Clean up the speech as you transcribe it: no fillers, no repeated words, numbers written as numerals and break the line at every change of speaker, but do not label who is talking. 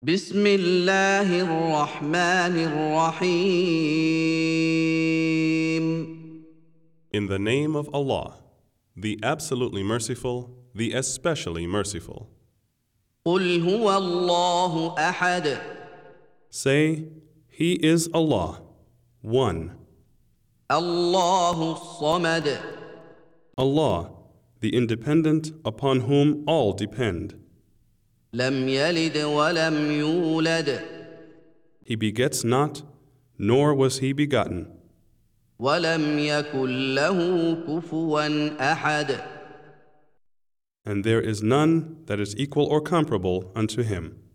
بسم الله الرحمن الرحيم
In the name of Allah, the absolutely merciful, the especially merciful.
قل هو الله أحد
Say, He is Allah, one.
الله الصمد
Allah, the independent upon whom all depend.
لم يلد ولم يولد
He begets not, nor was He begotten.
ولم يكن له كفوا أحد
And there is none that is equal or comparable unto Him.